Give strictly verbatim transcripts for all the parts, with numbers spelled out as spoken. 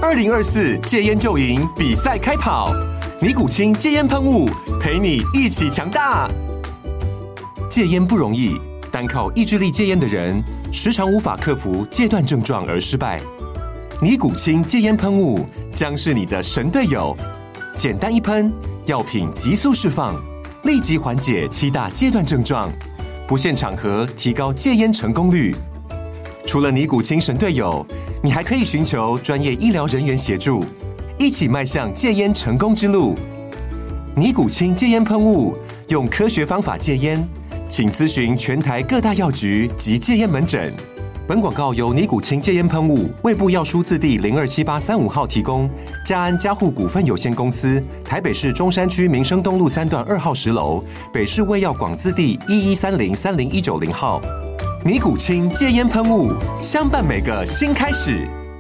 二零二四戒烟就赢比赛开跑，尼古清戒烟喷雾陪你一起强大。戒烟不容易，单靠意志力戒烟的人，时常无法克服戒断症状而失败。尼古清戒烟喷雾将是你的神队友，简单一喷，药品急速释放，立即缓解七大戒断症状，不限场合提高戒烟成功率。除了尼古清神队友，你还可以寻求专业医疗人员协助，一起迈向戒烟成功之路。尼古清戒烟喷雾，用科学方法戒烟，请咨询全台各大药局及戒烟门诊。本广告由尼古清戒烟喷雾、卫部药书字第零二七八三五号提供，嘉安嘉护股份有限公司，台北市中山区民生东路三段二号十楼，北市卫药广字第一一三零三零一九零号。尼古清戒烟喷雾，相伴每个新开始。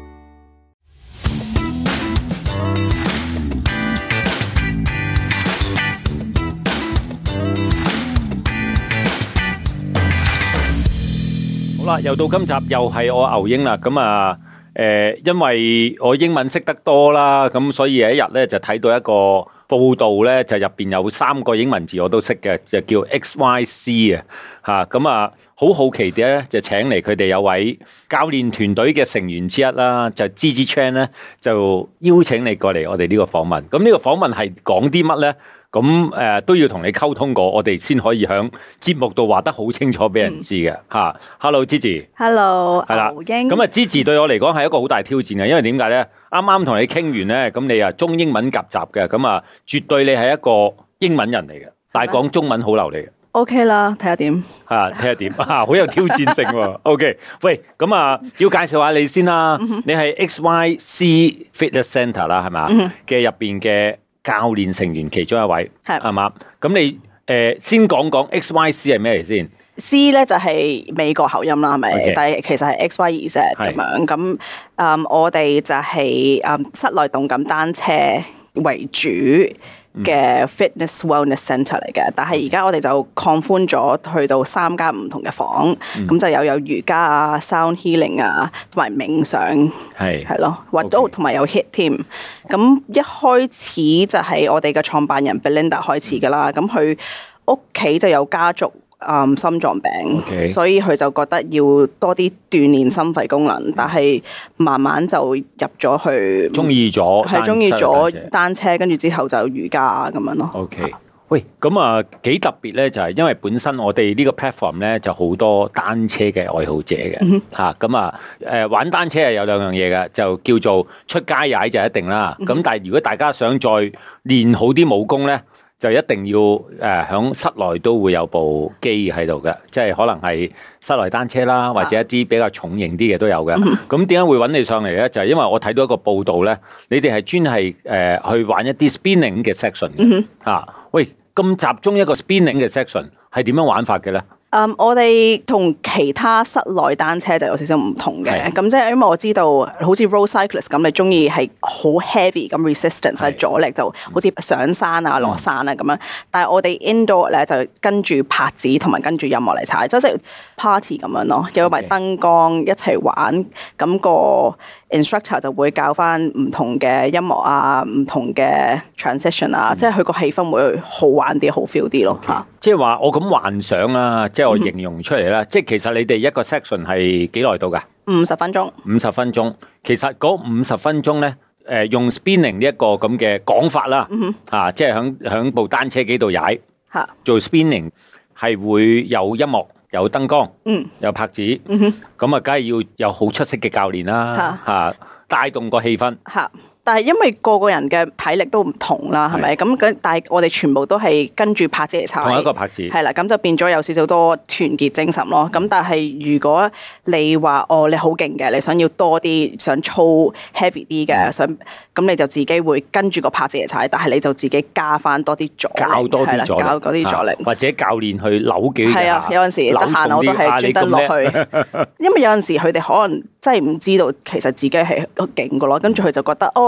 好啦，又到今集，又係我牛英啦。咁啊，誒，因為我英文識得多啦，咁所以有一日咧就睇到一個報道咧，就入邊有三個英文字我都識嘅，就叫 X Y C 啊，嚇咁啊，好好奇啲咧，就請嚟佢哋有位教練團隊嘅成員之一啦，就 Gigi Chan 咧，就邀請你過嚟我哋呢個訪問。咁呢個訪問係講啲乜咧？咁誒、呃、都要同你溝通過，我哋先可以喺節目度話得好清楚俾人知嘅嚇。嗯、Hello Gigi，Hello， 係啦。牛英咁啊，Gigi 對我嚟講係一個好大挑戰嘅，因為點解咧？啱啱同你傾完咧，咁你啊中英文夾雜嘅，咁啊絕對你係一個英文人嚟嘅，但係講中文好流利嘅。 OK 啦，睇下點嚇，睇下點啊，好有挑戰性喎。OK， 喂，咁啊要介紹下你先啦。嗯、你係 X Y C Fitness Centre 啦，係嘛嘅入邊嘅教練成員其中一位係係嘛？咁你誒、呃、先講講 X Y C 係咩嚟先 ？C 咧就係、是、美國口音啦，係咪？Okay. 但係其實係 X Y Z 咁樣。咁嗯，我哋就係、是、嗯室內動感單車為主嘅 fitness wellness centre 嚟嘅。但係而家我哋就擴寬咗，去到三間唔同嘅房，咁、嗯、就有有瑜伽啊、sound healing 啊，同埋冥想係係咯，或都同埋有 hit 添。咁一開始就係我哋嘅創辦人 Belinda 開始噶啦。咁佢屋企就有家族嗯心臟病， okay. 所以佢就覺得要多啲鍛鍊心肺功能，但係慢慢就入咗去， 中意咗係中意咗單車，跟住之後就瑜伽咁樣咯。 OK， 喂，咁啊幾特別咧，就係因為本身我哋呢個 platform 咧就好多單車嘅愛好者嘅嚇，咁啊誒玩單車係有兩樣嘢嘅，就叫做出街踩就一定啦。咁、嗯、但係如果大家想再練好啲武功咧，就一定要誒喺、呃、室內都會有部機喺度嘅，即係可能係室內單車啦，或者一啲比較重型啲嘅都有嘅。咁點解會揾你上嚟咧？就係、是、因為我睇到一個報道咧，你哋係專係誒、呃、去玩一啲 spinning 嘅 section 嘅嚇、啊。喂，咁集中一個 spinning 嘅 section 係點樣玩法嘅咧？ Um, 我哋同其他室內單車就有少少唔同嘅，咁即係因為我知道好似 road cyclist 咁，你中意係好 heavy 咁 resistance 係阻力，就好似上山啊、落山啊咁樣。但係我哋 indoor 咧就跟住拍子同埋跟住音樂嚟踩，即係 party 咁樣咯，有埋燈光一齊玩，咁個 instructor 就會教翻唔同嘅音樂啊、唔同嘅 transition 啊，嗯、即係佢個氣氛會好玩啲、好 feel 啲咯嚇。Okay. 即係話我咁幻想啦，即係我形容出嚟啦。嗯、即係其實你哋一個 section 係幾耐到㗎？ 五十分鐘。五十分鐘，其實嗰五十分鐘咧，誒、呃、用 spinning 呢一個咁嘅講法啦，嗯、啊，即係響響部單車機度踩，嚇，做 spinning 係會有音樂、有燈光，嗯，有拍子，嗯哼，咁啊，梗係要有好出色嘅教練啦，嚇、啊，帶動個氣氛， 嚇。但係因為個個人嘅體力都唔同啦，係咪？咁咁，但係我哋全部都係跟住拍子嚟踩， 同一個拍子， 係啦，咁就變咗有少少多團結精神咯。咁但係如果你話哦，你好勁嘅，你想要多啲，想操 heavy 啲嘅，想咁你就自己會跟住個拍子嚟踩，但係你就自己加翻多啲阻力， 教多啲阻力， 教嗰啲阻力， 或者教練去扭幾下， 係啊，有陣時得閒我都係專登落去，因為有陣時佢哋可能真係唔知道其實自己係勁嘅咯，跟住佢就覺得哦。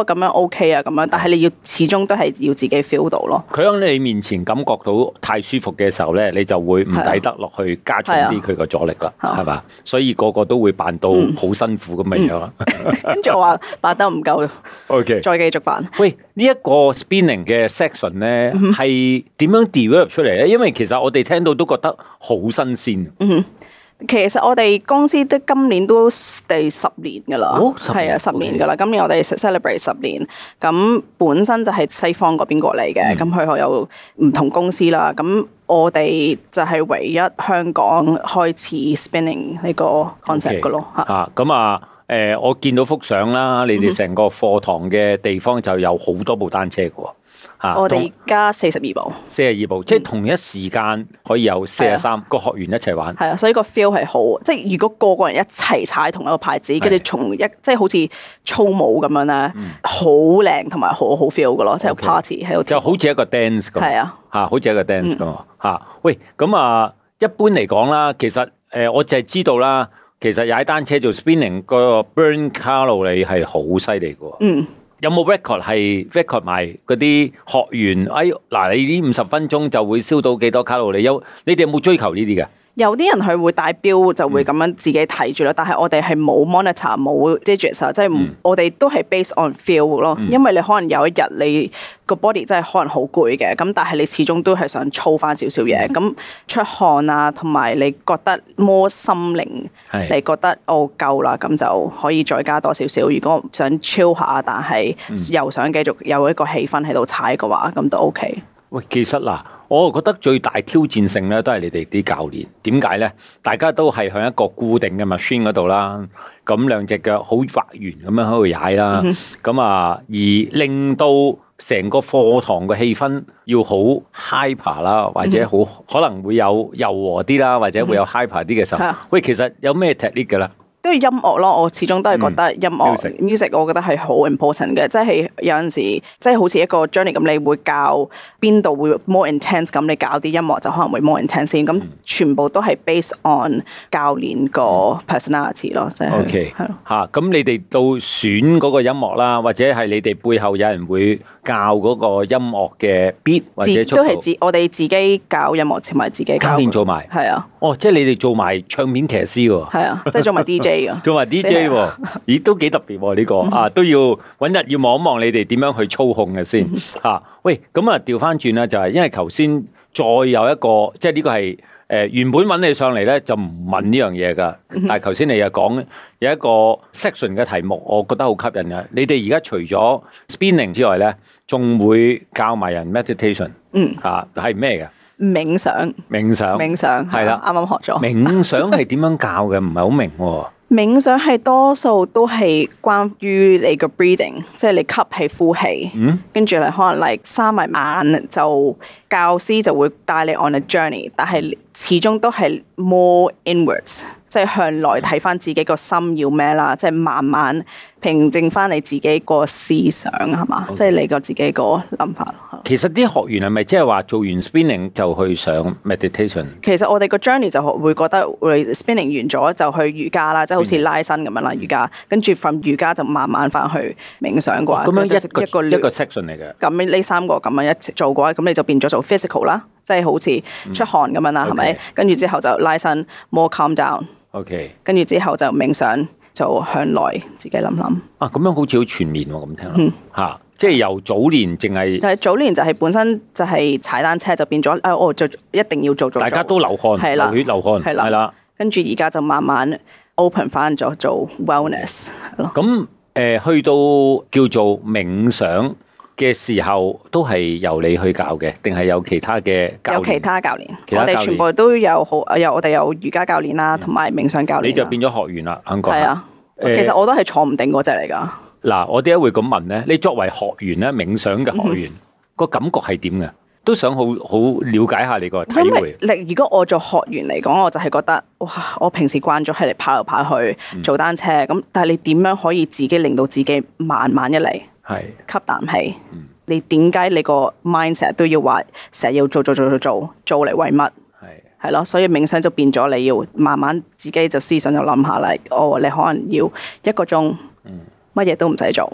咁樣 OK 啊咁樣，但係你要始終都係要自己 feel 到咯。 佢喺你面前感覺到太舒服嘅時候咧，你就會唔抵得落去加重啲佢個阻力啦，係嘛？所以個個都會扮到好辛苦咁嘅樣。 跟住我話扮得唔夠 ，OK， 再繼續扮。 喂，呢一個 spinning 嘅 section 咧係點樣 develop 出嚟咧？因為其實我哋聽到都覺得好新鮮。 嗯，其實我哋公司都今年都第十年噶啦，係啊，十年噶啦。今年我哋 celebrate 十年，咁本身就係西方嗰邊過嚟嘅，咁佢有唔同公司啦。咁我哋就係唯一香港開始 spinning 呢個 concept 噶咯。 嚇，咁啊，誒，我見到幅相啦，你哋成個課堂嘅地方就有好多部單車嘅喎。 我哋而家四十二部， 四十二部，即係同一時間可以有四十三個學員一齊玩。 係啊，所以個 feel 係好，即係如果個個人一齊踩同一個牌子，跟住從一即係好似操舞咁樣咧，好靚同埋好好 feel 嘅咯，即係 party 喺度， 就好似一個 dance 咁。係啊，嚇，好似一個 dance 咁嚇。喂，咁啊，一般嚟講啦，其實誒，我就係知道啦，其實踩單車做 spinning 個 burn 卡路里係好犀利嘅喎。嗯。有冇 record 係 record 埋嗰啲學員？哎，嗱，你呢五十分鐘就會燒到幾多卡路里？有你哋有冇追求呢啲嘅？ 有啲人佢會帶錶就會咁樣自己睇住咯，嗯、但係我哋係冇 monitor 冇 digits 啊，即係我哋都係 based on feel 咯。嗯、因為你可能有一日你個 body 真係可能好攰嘅，咁但係你始終都係想操翻少少嘢，咁、嗯、出汗啊，同埋你覺得摸心靈，是你覺得哦夠啦，咁就可以再加多少少。如果想 chill 下，但係又想繼續有一個氣氛喺度踩嘅話，咁都 OK。 喂，其實嗱，我覺得最大挑戰性咧，都係你哋啲教練。點解咧？大家都係向一個固定嘅 machine 嗰度啦，咁兩隻腳好畫圓咁樣喺度踩啦，咁啊、嗯，而令到成個課堂嘅氣氛要好 hyper 啦，或者好、嗯、可能會有柔和啲啦，或者會有 hyper 啲嘅時候。嗯、喂，其實有咩 technique 㗎啦？ 都係音樂咯，我始終都係覺得音樂、嗯、music， 我覺得係好 important 嘅，即係有陣時，即係好似一個 journey 咁，你會教邊度會 more intense，咁你教啲音樂就可能會 more intense 先，咁全部都係 based on 教練個 personality 咯，即係 OK 係咯嚇。咁你哋到選嗰個音樂啦，或者係你哋背後有人會教嗰個音樂嘅 beat 或者速度， 都係自我哋自己教音樂，同埋自己教練做埋， 係啊。 哦，即係你哋做埋唱片騎師喎， 係啊，即係做埋 D J 做埋 D J 喎，咦都幾特別喎呢個啊，都要揾日要望一望你哋點樣去操控嘅先嚇。喂，咁啊調翻轉啦，就係因為頭先再有一個，即係呢個係誒原本揾你上嚟咧就唔問呢樣嘢噶，但係頭先你又講有一個 section 嘅題目，我覺得好吸引嘅。你哋而家除咗 spinning 之外咧，仲會教埋人 meditation，嗯嚇，係咩嘅？ 冥想， 冥想， 冥想係啦，啱啱學咗。 冥想係點樣教嘅？唔係好明喎。 冥想係多數都係關於你個 breathing， 即係你吸氣呼氣，嗯、跟住你可能嚟閂埋眼，就教師就會帶你 on a journey， 但係始終都係 more inwards， 即係向內睇翻自己個心要咩啦，即係慢慢平靜翻你自己個思想係嘛，Okay. 即係你個自己個諗法。 其實啲學員係咪即係話做完 spinning 就去上 meditation？ 其實我哋個 journey 就會覺得會 spinning 完咗就去瑜伽啦，即係好似拉伸咁樣啦，瑜伽跟住 from 瑜伽就慢慢翻去冥想嘅話， 咁樣一個一個一個 section 嚟嘅。 咁呢三個咁樣一齊做嘅話，咁你就變咗做 physical 啦，即係好似出汗咁樣啦，係咪、嗯？跟住之後就拉伸 more calm down。OK。跟住之後就冥想，就向內自己諗諗。啊， 咁樣好似好全面喎，咁聽落嚇。嗯即係由早年淨係， 係早年就係本身就係踩單車就變咗，誒，我就一定要做做。 大家都流汗，係啦，流血流汗，係啦，係啦。 跟住而家就慢慢 open 翻咗做 wellness 咯。 咁誒，去到叫做冥想嘅時候，都係由你去教嘅，定係有其他嘅教練？ 有其他教練，我哋全部都有好，有我哋有瑜伽教練啦，同埋冥想教練。 你就變咗學員啦，肯講。 係啊，其實我都係坐唔定嗰隻嚟㗎。 嗱，我點解會咁問咧？你作為學員咧，冥想嘅學員，個、嗯、哼感覺係點嘅？都想好好了解下你個體會。 如果我做學員嚟講，我就係覺得，哇！我平時慣咗係嚟跑嚟跑去做單車，咁、嗯、但係你點樣可以自己令到自己慢慢一嚟，係吸啖氣？嗯、你點解你個 mind 成日都要話成日要做做做做做做嚟為乜？係係咯，所以冥想就變咗你要慢慢自己就思想就諗下嚟，哦，你可能要一個鐘。嗯乜嘢都唔使做，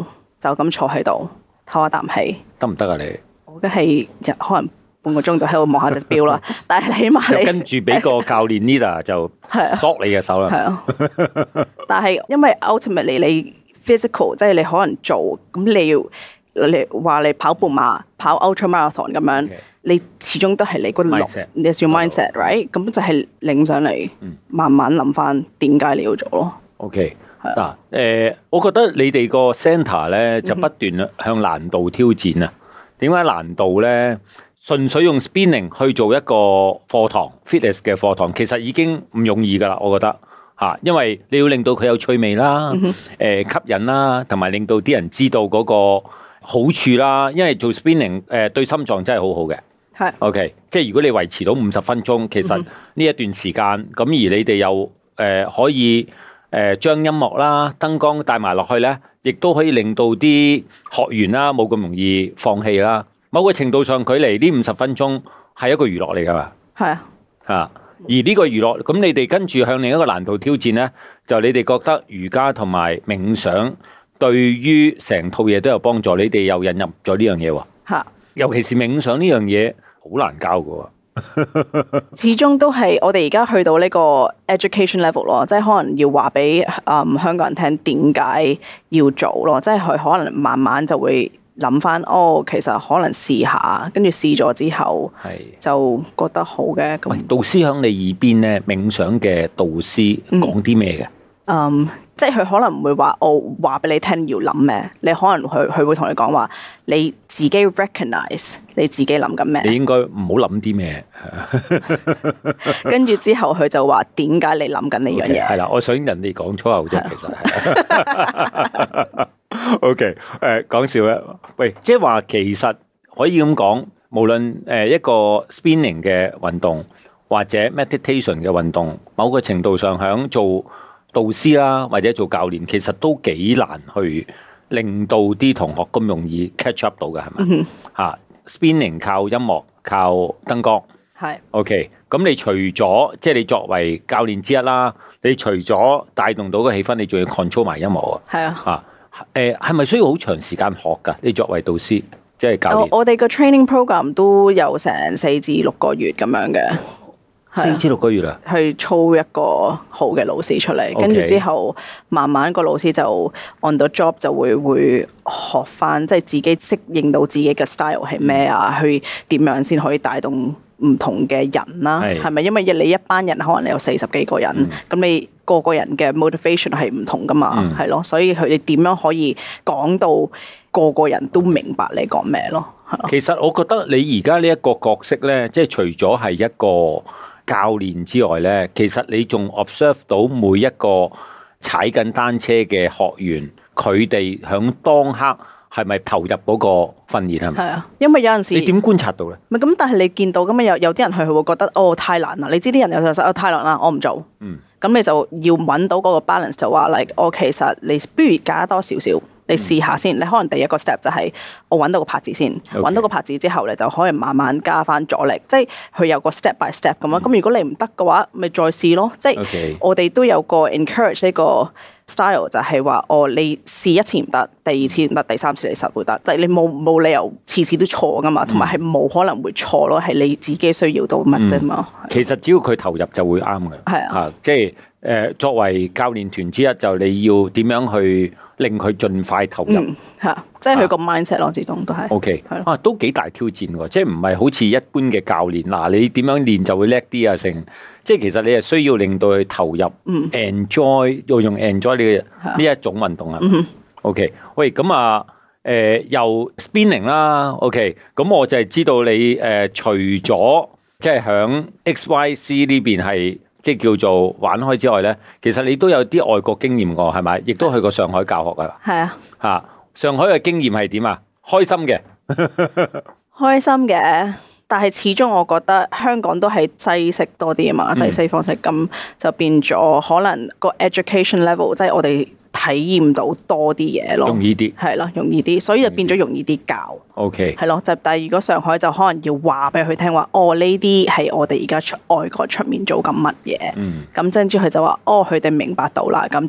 就咁坐喺度唞下啖氣， 得唔得啊？你我嘅係日可能半個鐘就喺度望下隻錶啦，但係起碼你就跟住俾個教練 leader 就索你嘅手啦。 係啊，但係因為 ultimately 你 physical 即係你可能做咁你要。你話你跑半馬、跑 ultra marathon 咁樣， Okay. 你始終都係你個腦，你係 mindset，right？ 咁就係領上嚟，嗯、慢慢諗翻點解你要做咯。 OK，嗱，誒、啊呃，我覺得你哋個 centre 咧就不斷向難度挑戰啊。點解、嗯、哼難度咧？純粹用 spinning 去做一個課堂 fitness 嘅課堂，其實已經唔容易噶啦，我覺得嚇、啊，因為你要令到佢有趣味啦，誒、嗯哼呃、吸引啦，同埋令到啲人知道嗰、那個。好處啦，因為做 spinning 誒、呃、對心臟真係好好嘅。係是 OK，即係如果你維持到五十分鐘，其實呢一段時間咁，而你哋又誒、呃、可以誒將、呃、音樂啦、燈光帶埋落去咧，亦都可以令到啲學員啦冇咁容易放棄啦。某個程度上，距離呢五十分鐘係一個娛樂嚟㗎嘛。係啊，嚇！而呢個娛樂，咁你哋跟住向另一個難度挑戰咧，就你哋覺得瑜伽同埋冥想。對於成套嘢都有幫助，你哋又引入咗呢樣嘢喎。嚇，尤其是冥想呢樣嘢好難教㗎喎。 始終都係我哋而家去到呢個 education level 咯，即係可能要話俾誒香港人聽點解要做咯，即係佢可能慢慢就會諗翻，哦，其實可能試下，跟住試咗之後，係就覺得好嘅。咁導師響你耳邊咧，冥想嘅導師講啲咩嘅？ 嗯。即係佢可能唔會話我話俾你聽要諗咩，你可能佢佢會同你講話，你自己 recognize 你自己諗緊咩。 你應該唔好諗啲咩。 跟住之後佢就話點解你諗緊呢樣嘢？ 係啦，我想人哋講粗口啫，其實係。O K，誒講笑咧，喂，即係話其實可以咁講，無論誒一個 spinning 嘅運動或者 meditation 嘅運動，某個程度上響做。導師啦，或者做教練，其實都幾難去令到啲同學咁容易 catch up 到嘅，係咪？嚇、mm hmm. 啊、spinning 靠音樂，靠燈光，係是 OK。咁你除咗即係你作為教練之一啦，你除咗帶動到個氣氛，你仲要 control 埋音樂啊？係啊。嚇誒係咪需要好長時間學㗎？你作為導師即係教練， 我哋個 training program 都有成四至六個月咁樣嘅。 四至六個月啦， 去操一個好嘅老師出嚟，跟住 Okay. 之後慢慢個老師就 on the job 就會會學翻，即係自己適應到自己嘅 style 係咩啊？去點樣先可以帶動唔同嘅人啦？係咪是？因為你一班人可能你有四十幾個人，咁、嗯、你個個人嘅 motivation 係唔同噶嘛？係、嗯、咯，所以佢哋點樣可以講到個個人都明白你講咩咯？ 其實我覺得你而家呢一個角色咧，即係除咗係一個教練之外咧，其實你仲 observe 到每一個踩緊單車嘅學員，佢哋響當刻係咪投入嗰個訓練係咪？係啊， 因為有陣時你點觀察到咧？ 唔係咁，但係你見到咁啊，有有啲人佢會覺得哦太難啦，你知啲人有時候哦太難啦，我唔做。嗯，咁你就要揾到嗰個 balance，就話 like 我其實你不如加多少少。你試下先，你可能第一個 step 就係我揾到個拍子先，揾 Okay. 到個拍子之後，你就可以慢慢加翻阻力，即係佢有個 step by step 咁樣。咁、嗯、如果你唔得嘅話，咪再試咯。即係 Okay. 我哋都有個 encourage 呢個 style，就係話哦，你試一次唔得，第二次唔得，第三次你實會得。即係你冇冇理由次次都錯噶嘛，同埋係冇可能會錯咯，係你自己需要到乜啫嘛。 嗯、其實只要佢投入就會啱嘅。係啊，啊，即係誒、呃、作為教練團之一，就你要點樣去令佢盡快投入，嚇、 嗯，即係佢個 mindset 咯，始終都係。O K，係啊，都幾大挑戰喎，即係唔係好似一般嘅教練嗱，你點樣練就會叻啲啊？成，即係其實你係需要令到佢投入、嗯、，enjoy 要用 enjoy 呢呢一種運動啊。O K，喂，咁啊，誒、呃、又 spinning 啦。O K，咁我就係知道你誒、呃、除咗即係響 X Y C 呢邊係。即係叫做玩開之外咧，其實你都有啲外國經驗㗎，係咪？亦都去過上海教學㗎。係啊，嚇！上海嘅經驗係點啊？開心嘅， 開心嘅。但係始終我覺得香港都係西式多啲啊嘛，即係西方式，咁、嗯、就變咗可能個 education level，即係我哋體驗到多啲嘢咯，容易啲係咯，容易啲，所以就變咗容易啲教。OK，係咯，就但係如果上海就可能要話俾佢聽話，哦呢啲係我哋而家出外國出面做緊乜嘢，嗯，咁跟住佢就話，哦佢哋明白到啦，咁就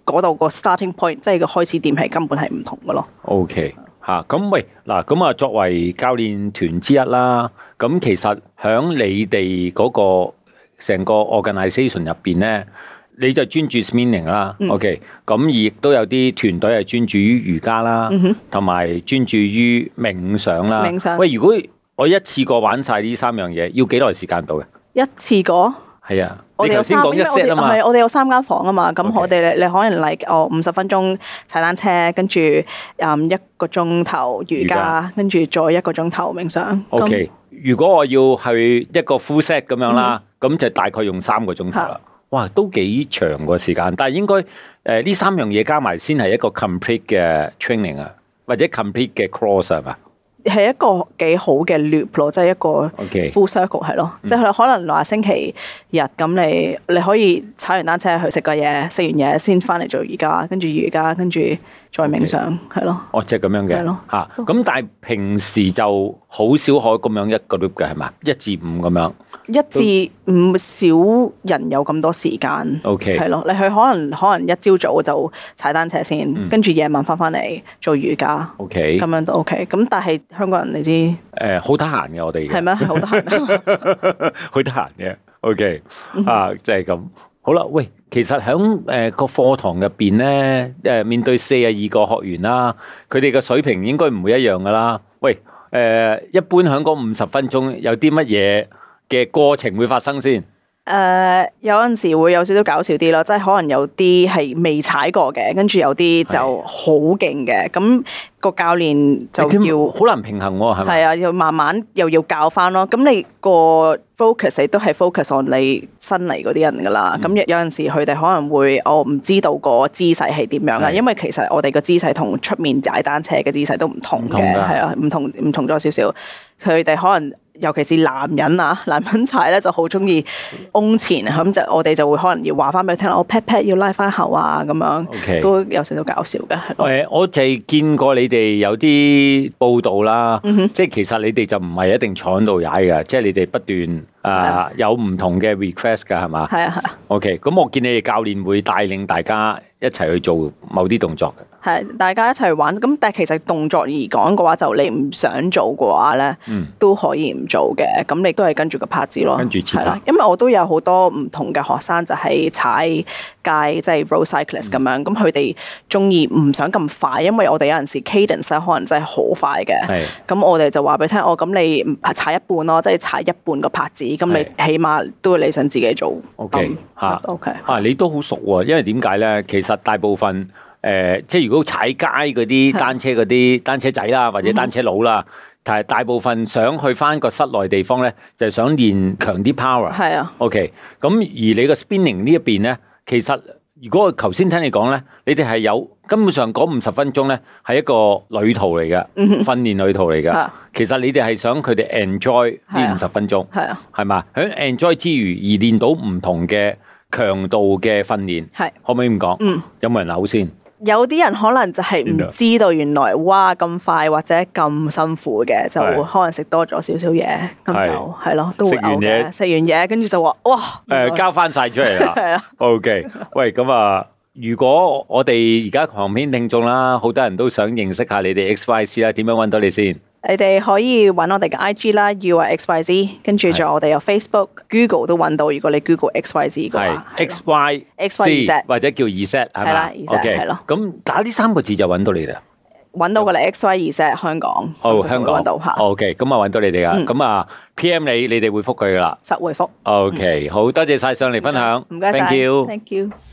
嗰度個 starting point， 即係個開始點係根本係唔同嘅咯。 OK， 吓咁喂嗱，咁啊作為教練團之一啦，咁其實響你哋嗰個成個 organisation 入邊咧，你就專注 spinning 啦。嗯、OK， 咁亦都有啲團隊係專注於瑜伽啦，同埋、嗯、專注於冥想啦。冥想。喂，如果我一次過玩晒呢三樣嘢，要幾耐時間到嘅？一次過？係啊， 我哋有三，因為我哋係我哋有三間房啊嘛，咁 Okay. 我哋你可能嚟、like, 哦五十分鐘踩單車，跟住嗯一個鐘頭瑜伽，跟住再一個鐘頭冥想。 O K， 如果我要去一個 full set 咁樣啦，咁、嗯、就大概用三個鐘頭啦。的哇，都幾長個時間，但係應該誒呢、呃、三樣嘢加埋先係一個 complete 嘅 training 啊，或者 complete 嘅 course 係嘛？ 係一個幾好嘅 loop 咯，即係一個 full circle 係咯，即係可能話星期日咁你你可以踩完單車去食個嘢，食完嘢先翻嚟做瑜伽，跟住瑜伽跟住再冥想係咯。 哦，即係咁樣嘅，係咯嚇。咁但係平時就好少可咁樣一個 loop 嘅係嘛？一至五咁樣。一至五少人有咁多時間 ，OK， 係咯。你去可能可能一朝早就踩單車先，跟住夜晚翻翻嚟做瑜伽 ，OK， 咁樣都 OK。咁但係香港人你知誒好得閒嘅我哋， 係咩？好得閒， 好得閒嘅 OK 啊，即係咁好啦。喂，其實喺誒個課堂入邊咧，誒面對四十二個學員啦，佢哋嘅水平應該唔會一樣噶啦。喂，誒一般喺嗰五十分鐘有啲乜嘢嘅過程會發生先？誒、 呃，有陣時會有少少搞笑啲咯，即係可能有啲係未踩過嘅，跟住有啲就好勁嘅，咁的個教練就要好難平衡喎，係咪？ 係啊，要慢慢又要教翻咯。咁你個 focus 你都係 focus on 你新嚟嗰啲人噶啦。咁、嗯、有陣時佢哋可能會我唔知道個姿勢係點樣啊，的因為其實我哋個姿勢同出面踩單車嘅姿勢都唔同嘅，係啊，唔同唔同咗少少。佢哋可能。尤其是男人啊，男人踩咧就好中意嗡前，咁就我哋就會可能要話翻俾佢聽，我 pat pat 要拉翻後啊，咁樣 Okay. 都有少少搞笑嘅。 誒，我就係見過你哋有啲報道啦，嗯、哼即係其實你哋就唔係一定坐喺度踩嘅，即係你哋不斷啊、呃、有唔同嘅 request 㗎，係嘛？係啊係啊。OK，咁我見你哋教練會帶領大家一齊去做某啲動作嘅。係， 大家一齊玩。咁但係其實動作而講嘅話，就你唔想做嘅話咧，嗯、都可以唔做嘅。咁你都係跟住個拍子咯。 跟住係啦， 因為我都有好多唔同嘅學生就係踩街，即係 road cyclist 咁樣。咁佢哋中意唔想咁快，因為我哋有陣時 cadence 可能真係好快嘅。係。咁我哋就話俾你聽，哦，咁你踩一半咯，即係踩一半個拍子。咁你起碼都你想自己做。 OK 嚇 ，OK 嚇，你都好熟喎。因為點解咧？其實大部分。誒、呃，即係如果踩街嗰啲單車嗰啲單車仔啦，或者單車佬啦，但係大部分想去返個室內地方咧，就係、是、想練強啲 power。係啊。OK，咁而你個 spinning 呢一邊咧，其實如果我頭先聽你講咧，你哋係有根本上嗰五十分鐘咧係一個旅途嚟嘅，訓練旅途嚟嘅。啊、其實你哋係想佢哋 enjoy 呢五十分鐘，係啊，係嘛？喺 enjoy 之餘而練到唔同嘅強度嘅訓練，係可唔可以咁講？嗯，有冇人扭先？ 有啲人可能就係唔知道原來哇咁快或者咁辛苦嘅，就可能食多咗少少嘢，咁就係咯，都會嘔嘅。食完嘢跟住就話哇， 誒交翻晒出嚟啦。係啊，OK。喂，咁啊，如果我哋而家旁邊聽眾啦，好多人都想認識下你哋 X Y Z 啦，點樣揾到你先？ 你哋可以揾我哋嘅 I G 啦 ，U X Y Z， 跟住仲有我哋有 Facebook、Google 都揾到。如果你 Google X Y Z 嘅話 ，X Y X Y Z 或者叫 Z 係咪？係啦，Z 係咯。咁打呢三個字就揾到你哋啦。 揾到㗎啦 ，X Y Z 香港。 好，香港揾到嚇。 OK，咁啊揾到你哋噶。咁啊 P M 你，你哋回覆佢噶啦。 實回覆。 OK，好多謝晒上嚟分享。 唔該晒。 Thank you。 Thank you。